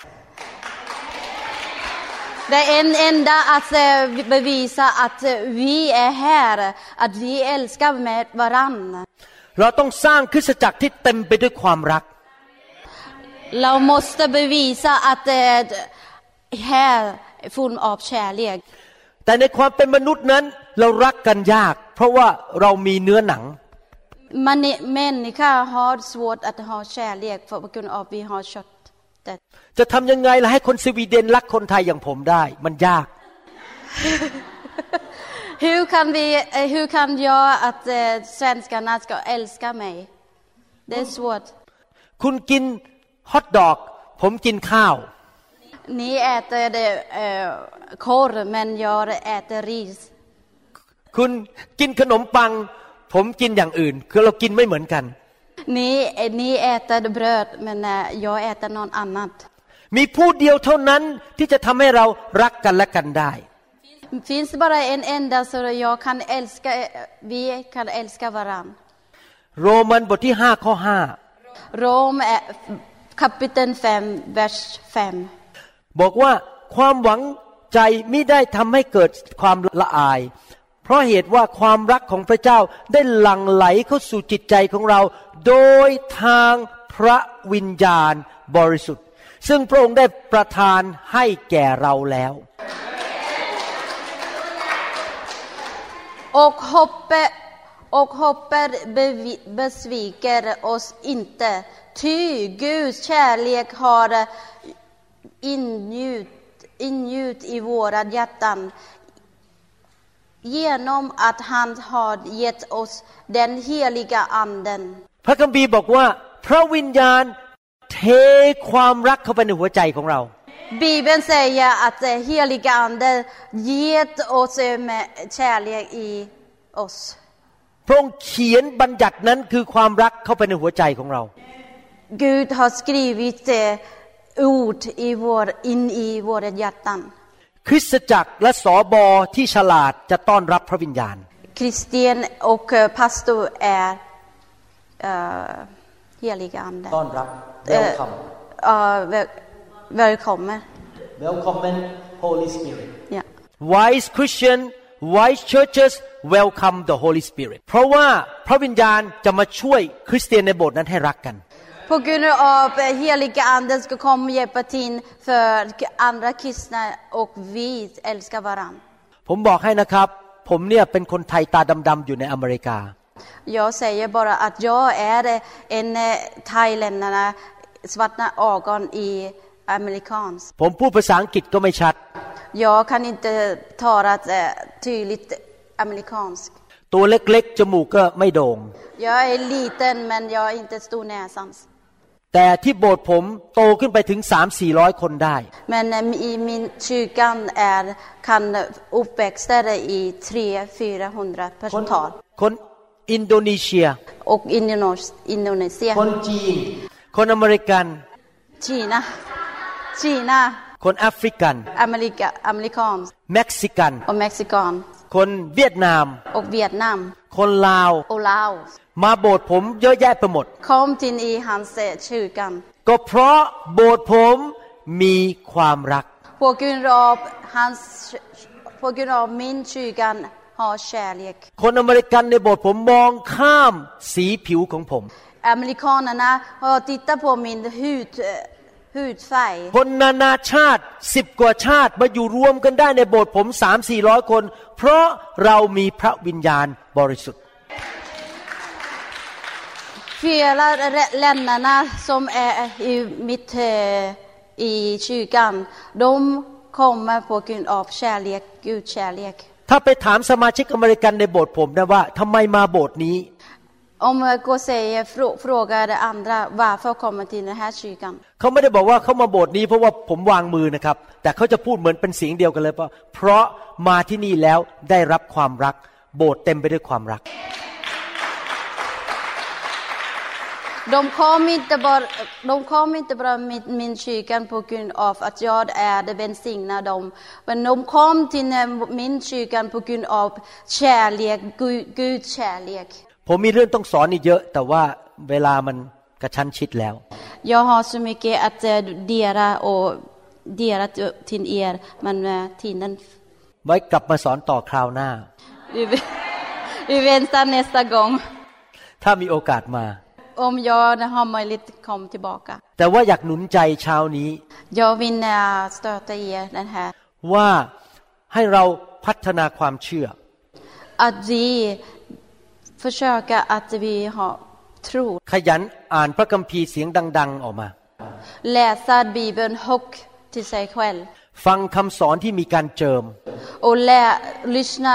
Speaker 3: Det är en enda att bevisa att vi är här, att vi älskar med varann.
Speaker 2: เราต้องสร้างคริสตจักรที่เต็มไปด้วยความรัก
Speaker 3: เราmåste bevisa att här är full av kärlek.
Speaker 2: แต่ในความเป็นมนุษย์นั้นเรารักกันยากเพราะว่าเรามีเนื้อหนัง
Speaker 3: Människor har svårt att ha kärlek på grund av att vi har kött.
Speaker 2: จะทำยังไงล่ะให้คนสวีเดนรักคนไทยอย่างผมได้มันยาก
Speaker 3: Hur kan jag att svenskarna ska älska mig? Det är svårt.
Speaker 2: คุณกินฮอทดอกผมกินข้าว
Speaker 3: Ni äter korv men jag äter ris.
Speaker 2: คุณกินขนมปังผมกินอย่างอื่นคือเรากินไม่เหมือนกัน
Speaker 3: Ni äter bröd men jag äter något annat.
Speaker 2: มีผู้เดียวเท่านั้นที่จะทำให้เรารักกันและกันได้
Speaker 3: Finns bara en enda så vi kan älska varann.
Speaker 2: โรมันบทที่5ข้อ5
Speaker 3: Rom kapitel 5 vers 5.
Speaker 2: บอกว่าความหวังใจไม่ได้ทำให้เกิดความละอายเพราะเหตุว่าความรักของพระเจ้าได้หลั่งไหลเข้าสู่จิตใจของเราโดยทางพระวิญญาณบริสุทธิ์ซึ่งพระองค์ได้ประทานให้แก่เราแล้ว
Speaker 3: Och hoppet besviker oss inte ty Guds kärlek har ingjutit i våra hjärtan genom att han har gett oss den heliga anden
Speaker 2: พระคัมภีร์บอกว่าพระวิญญาณเทความรักเข้าไปในหัวใจของเรา
Speaker 3: Bibeln säger att heliga ande gett oss med kärlek i oss
Speaker 2: พระองค์เขียนบัญญัตินั้นคือความรักเข้าไปในหัวใจของเรา
Speaker 3: Gud har skrivit ord in i våra hjärtan.
Speaker 2: คริสตจักรและสบที่ฉลาดจะต้อนรับพระวิญญาณ
Speaker 3: Kristen och pastor är heliga ande.
Speaker 2: ต้อนรับ welcome
Speaker 3: Välkommen.
Speaker 2: Welcome Holy Spirit.
Speaker 3: Ja.
Speaker 2: Wise Christian, wise churches welcome the Holy Spirit. เพราะว่าพระวิญญาณจะมาช่วยคริสเตียนในโบสถ์นั้นให้รักกัน
Speaker 3: På grund av heliga anden ska komma och hjälpa till för andra kristna och vi älskar varandra.
Speaker 2: ผมบอกให้นะครับผมเนี่ยเป็นคนไทยตาดำๆอยู่ในอเมริกา
Speaker 3: Jag säger bara att jag är en thailändare svarta ögon i amerikansk.
Speaker 2: ผมพูดภาษาอังกฤษก็ไม่ชัด
Speaker 3: Jag kan inte tala tydligt amerikansk.
Speaker 2: ตัวเล็กๆจมูกก็ไม่โด่ง
Speaker 3: Jag är liten men jag är inte stor näsans.
Speaker 2: แต่ที่โบสถ์ผมโตขึ้นไปถึง 3-400 คนได้
Speaker 3: Men i min kyrkan kan uppväxta i 300-400 personer.
Speaker 2: คนอินโดนีเซีย
Speaker 3: Och Indonesien.
Speaker 2: คนจีนคนอเมริกัน
Speaker 3: Kina.
Speaker 2: คนแอฟริกัน
Speaker 3: Amerikansk.
Speaker 2: เม็กซิกัน
Speaker 3: Och Mexikan.
Speaker 2: คนเวียดนาม
Speaker 3: Och Vietnam.
Speaker 2: คนลาว
Speaker 3: Och Laos.
Speaker 2: มาโบสถ์ผมเยอะแยะไปหมด
Speaker 3: Kom till i hans kyrkan.
Speaker 2: ก็เพราะโบสถ์ผมมีความรัก
Speaker 3: På grund av min kyrkan har kärlek.
Speaker 2: คนอเมริกันในโบสถ์ผมมองข้ามสีผิวของผม
Speaker 3: Amerikanerna har tittat på min hudfärg.
Speaker 2: คนนานาชาติ10 กว่าชาติมาอยู่รวมกันได้ในโบสถ์ผม 3-400 คนเพราะเรามีพระวิญญาณบริสุทธิ์
Speaker 3: Flera länderna som är i kyrkan, de kommer på grund av kärlek, Guds kärlek.
Speaker 2: ถ้าไปถามสมาชิกอเมริกันในโบสถ์ผมนะว่าทำไมมาโบสถ์นี้
Speaker 3: Om jag går säger frågar andra varför kommer till den här kyrkan.
Speaker 2: เขาไม่ได้บอกว่าเขามาโบสถ์นี้เพราะว่าผมวางมือนะครับแต่เขาจะพูดเหมือนเป็นเสียงเดียวกันเลยว่าเพราะมาที่นี่แล้วได้รับความรักโบสถ์เต็มไปด้วยความรัก
Speaker 3: De kom inte bara min kyrkan på grund av att jag är det välsignade dem. Men de kom till min kyrkan på grund av kärlek, Guds kärlek.
Speaker 2: ผมมีเรื่องต้องสอนอีกเยอะแต่ว่าเวลามันกระชั้นชิดแล้ว
Speaker 3: Jag har så mycket att dela till er men tiden
Speaker 2: ไว้กลับมาสอนต่อคราวหน้า
Speaker 3: Vi väntar nästa gång.
Speaker 2: ถ้ามีโอกาสมา
Speaker 3: Om jag har möjlighet kom tillbaka.
Speaker 2: แต่ว่าอยากหนุนใจเช้านี้
Speaker 3: Jag vill stötta er den här.
Speaker 2: ว่าให้เราพัฒนาความเชื่อ
Speaker 3: Att vi försöker att vi har tro.
Speaker 2: ขยันอ่านพระคัมภีร์เสียงดังๆออกมา
Speaker 3: Läsa Bibeln högt till sig själv.
Speaker 2: ฟังคำสอนที่มีการเจิม
Speaker 3: Och lyssna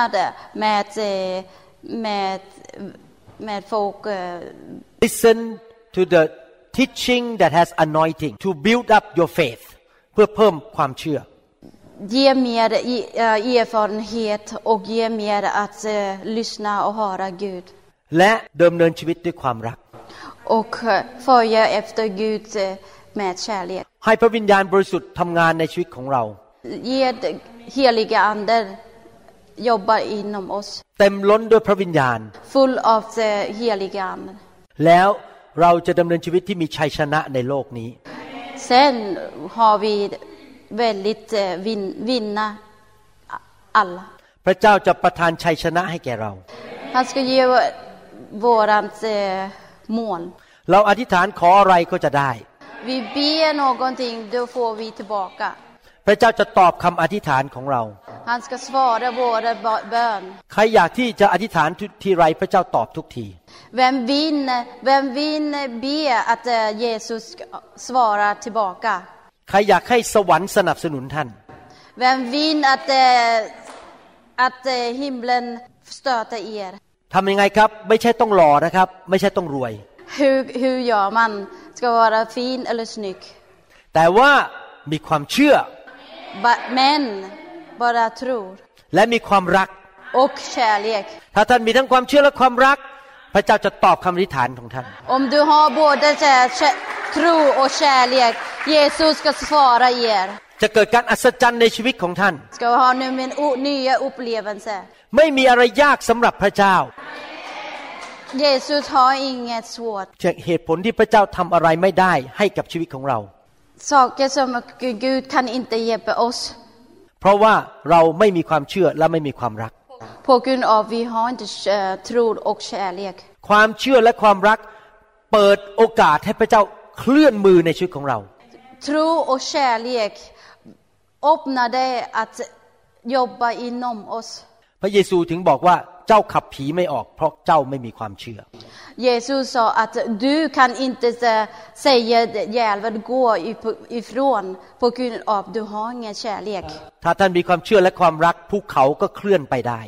Speaker 3: med folk.
Speaker 2: Listen to the teaching that has anointing to build up your faith เพื่อเพิ่มความเชื่อ
Speaker 3: Ge mer erfarenhet och ge mer att lyssna och höra Gud.
Speaker 2: และดำเนินชีวิตด้วยความรัก
Speaker 3: Och följa efter Gud med kärlek.
Speaker 2: ให้พระวิญญาณบริสุทธิ์ทำงานในชีวิตของเรา
Speaker 3: Ge heliga ande jobbar inom oss.
Speaker 2: เต็มล้นด้วยพระวิญญาณ
Speaker 3: Full av the heliga ande.
Speaker 2: แล้วเราจะดำเนินชีวิตที่มีชัยชนะในโลกนี้
Speaker 3: Sen har vi väldigt vinna alla.
Speaker 2: พระเจ้าจะประทานชัยชนะให้แก่เรา
Speaker 3: Han ska ge vårat mål.
Speaker 2: เราอธิษฐานขออะไรก็จะได้
Speaker 3: Vi ber någonting, då får vi tillbaka.
Speaker 2: พระเจ้าจะตอบคำอธิษฐานของเรา
Speaker 3: Han ska svara våra bön.
Speaker 2: ใครอยากที่จะอธิษฐานทีไรพระเจ้าตอบทุกที
Speaker 3: Vem vill be att Jesus svarar tillbaka?
Speaker 2: ใครอยากให้สวรรค์สนับสนุนท่าน
Speaker 3: Vem vill att himlen stöter er?
Speaker 2: ทำยังไงครับไม่ใช่ต้องหล่อนะครับไม่ใช่ต้องรวย
Speaker 3: Hur gör man? Ska vara fin eller snygg?
Speaker 2: แต่ว่ามีความเชื่อ
Speaker 3: Men bara tror.
Speaker 2: และมีความรัก
Speaker 3: Och kärlek.
Speaker 2: ถ้าท่านมีทั้งความเชื่อและความรักพระเจ้าจะตอบคำอธิษฐานของท่าน
Speaker 3: Om du har både tro och kärlek. Jesus ska svara er.
Speaker 2: จะเกิดการอัศจรรย์ในชีวิตของท่าน
Speaker 3: Ska ha nu en nya upplevelse.
Speaker 2: ไม่มีอะไรยากสำหรับพระเจ้า
Speaker 3: Jesus har inget svårt.
Speaker 2: จากเหตุผลที่พระเจ้าทำอะไรไม่ได้ให้กับชีวิตของเรา
Speaker 3: Saker som Gud kan inte hjälpa oss.
Speaker 2: เพราะว่าเราไม่มีความเชื่อและไม่มีความรัก
Speaker 3: På grund av vi har inte tro och kärlek.
Speaker 2: ความเชื่อและความรักเปิดโอกาสให้พระเจ้าเคลื่อนมือในชีวิตของเรา
Speaker 3: Tro och kärlek öppnar det att jobba inom oss.
Speaker 2: พระเยซูถึงบอกว่าเจ้าขับผีไม่ออกเพราะเจ้าไม่มีความเชื่อ
Speaker 3: Jesus sa att du kan inte säga djävulen gå ifrån på grund av du har ingen kärlek.
Speaker 2: ถ้าท่านมีความเชื่อและความรักภูเขาก็เคลื่อนไปได้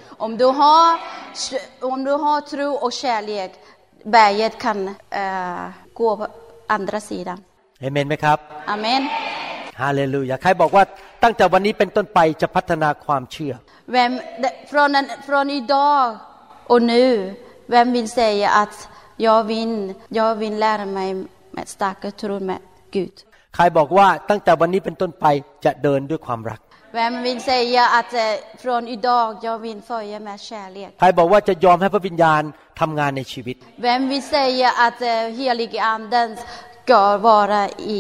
Speaker 3: Om du har tro och kärlek, berget kan gå på andra sidan.
Speaker 2: เอเมนไหมครับ
Speaker 3: Amen.
Speaker 2: ฮาเลลูยาใครบอกว่าตั้งแต่วันนี้เป็นต้นไปจะพัฒนาความเชื่อ
Speaker 3: Från idag och nu, vem vill säga att jag vill lära mig med starka tro med Gud?
Speaker 2: ใครบอกว่าตั้งแต่วันนี้เป็นต้นไปจะเดินด้วยความรัก
Speaker 3: Vem vill säga att från idag jag vill följa med kärlek?
Speaker 2: ใครบอกว่าจะยอมให้พระวิญญาณทำงานในชีวิต
Speaker 3: Vem vill säga att helige anden ska vara i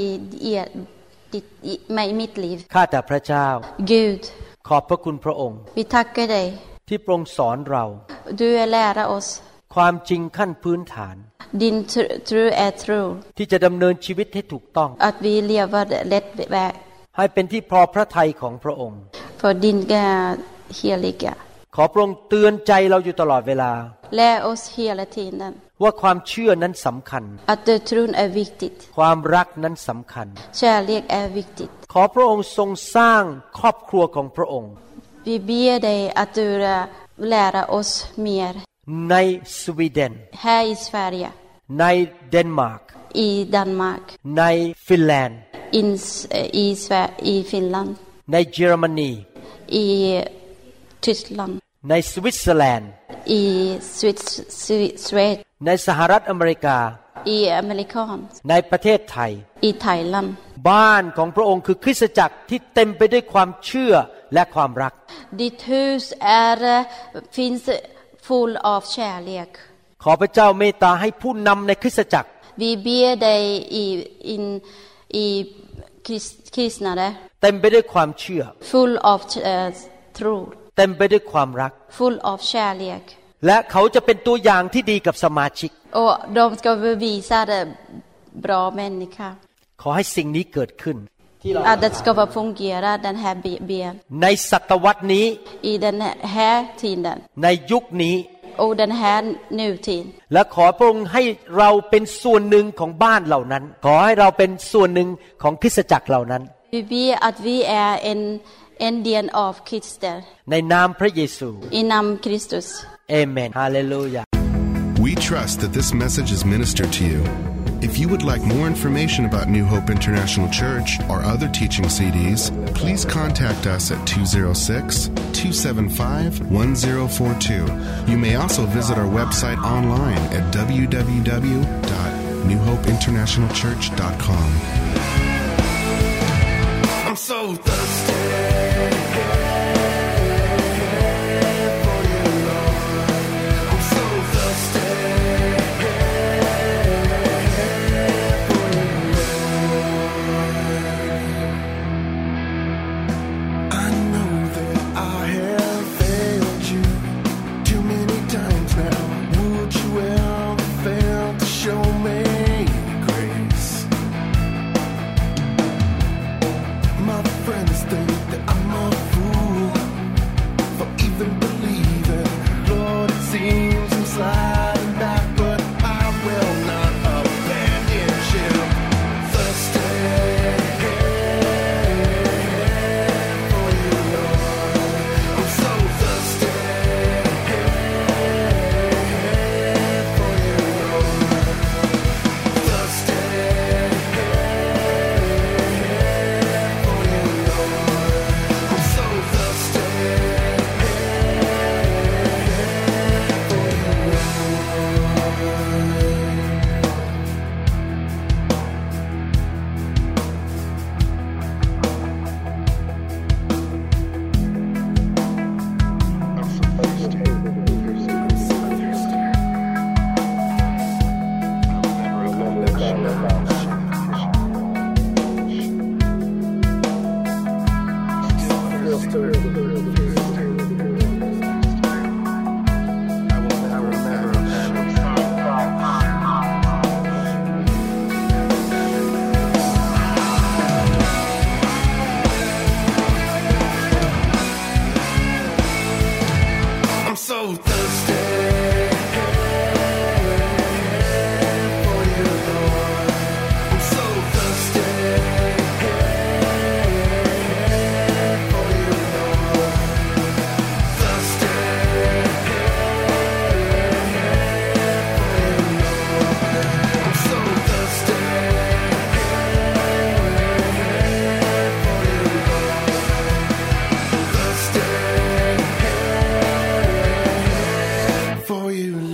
Speaker 3: mitt liv?
Speaker 2: ข้าแต่พระเจ้า
Speaker 3: Gud,
Speaker 2: ขอบพระคุณพระองค์
Speaker 3: vi tackar dig.
Speaker 2: ที่พระองค์สอนเรา
Speaker 3: Du är lära oss.
Speaker 2: ความจริงขั้นพื้นฐาน
Speaker 3: Din tro är tro.
Speaker 2: ที่จะดำเนินชีวิตให้ถูกต้อง
Speaker 3: Att vi lever rätt väg.
Speaker 2: ให้เป็นที่พอพระทัยของพระองค์
Speaker 3: För din heliga.
Speaker 2: ขอพระองค์เตือนใจเราอยู่ตลอดเวลา
Speaker 3: Lär oss hela tiden.
Speaker 2: ว่าความเชื่อนั้นสำคัญ
Speaker 3: Att tron är viktigt.
Speaker 2: ความรักนั้นสำคัญ
Speaker 3: Kärlek är viktigt.
Speaker 2: ขอพระองค์ทรงสร้างครอบครัวของพระองค์
Speaker 3: Vi ber dig att du lär oss mer.
Speaker 2: ในสวีเดน
Speaker 3: Här i Sverige.
Speaker 2: ในเดนมาร์ก
Speaker 3: I Danmark.
Speaker 2: ในฟินแลนด์
Speaker 3: I Finland.
Speaker 2: ในเยอรมนี
Speaker 3: I Tyskland.
Speaker 2: ในสวิตเซอร์แลนด์
Speaker 3: I Schweiz.
Speaker 2: ในสหรัฐอเมริกา
Speaker 3: I Amerikan.
Speaker 2: ในประเทศไทย
Speaker 3: I Thailand.
Speaker 2: บ้านของพระองค์คือคริสตจักรที่เต็มไปด้วยความเชื่อและความรัก
Speaker 3: Ditt hus finns full av kärlek.
Speaker 2: ขอพระเจ้าเมตตาให้ผู้นำในคริสตจักร
Speaker 3: Vi ber dig i kristna
Speaker 2: เต็มไปด้วยความเชื่อ
Speaker 3: full av tro.
Speaker 2: เต็มไปด้วยความรัก
Speaker 3: Full av kärlek.
Speaker 2: และเขาจะเป็นตัวอย่างที่ดีกับสมาชิก
Speaker 3: Och de ska bevisa det bra människa.
Speaker 2: ขอให้สิ่งนี้เกิดขึ้น
Speaker 3: Att det ska fungera den här ben.
Speaker 2: ในศตวรรษนี้
Speaker 3: I den här tiden.
Speaker 2: ในยุคนี้
Speaker 3: Och den här nutiden.
Speaker 2: และขอพระองค์ให้เราเป็นส่วนหนึ่งของบ้านเหล่านั้นขอให้เราเป็นส่วนหนึ่งของคริสตจักรเหล่านั้น
Speaker 3: Vi ber att vi är en del av Kristus.
Speaker 2: ในนามพระเยซู
Speaker 3: I namn Kristus.
Speaker 2: เอเมนฮาเลลูยา
Speaker 1: We trust that this message is ministered to you. If you would like more information about New Hope International Church or other teaching CDs, please contact us at 206-275-1042. You may also visit our website online at www.newhopeinternationalchurch.com. I'm so thirsty. Friends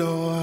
Speaker 1: your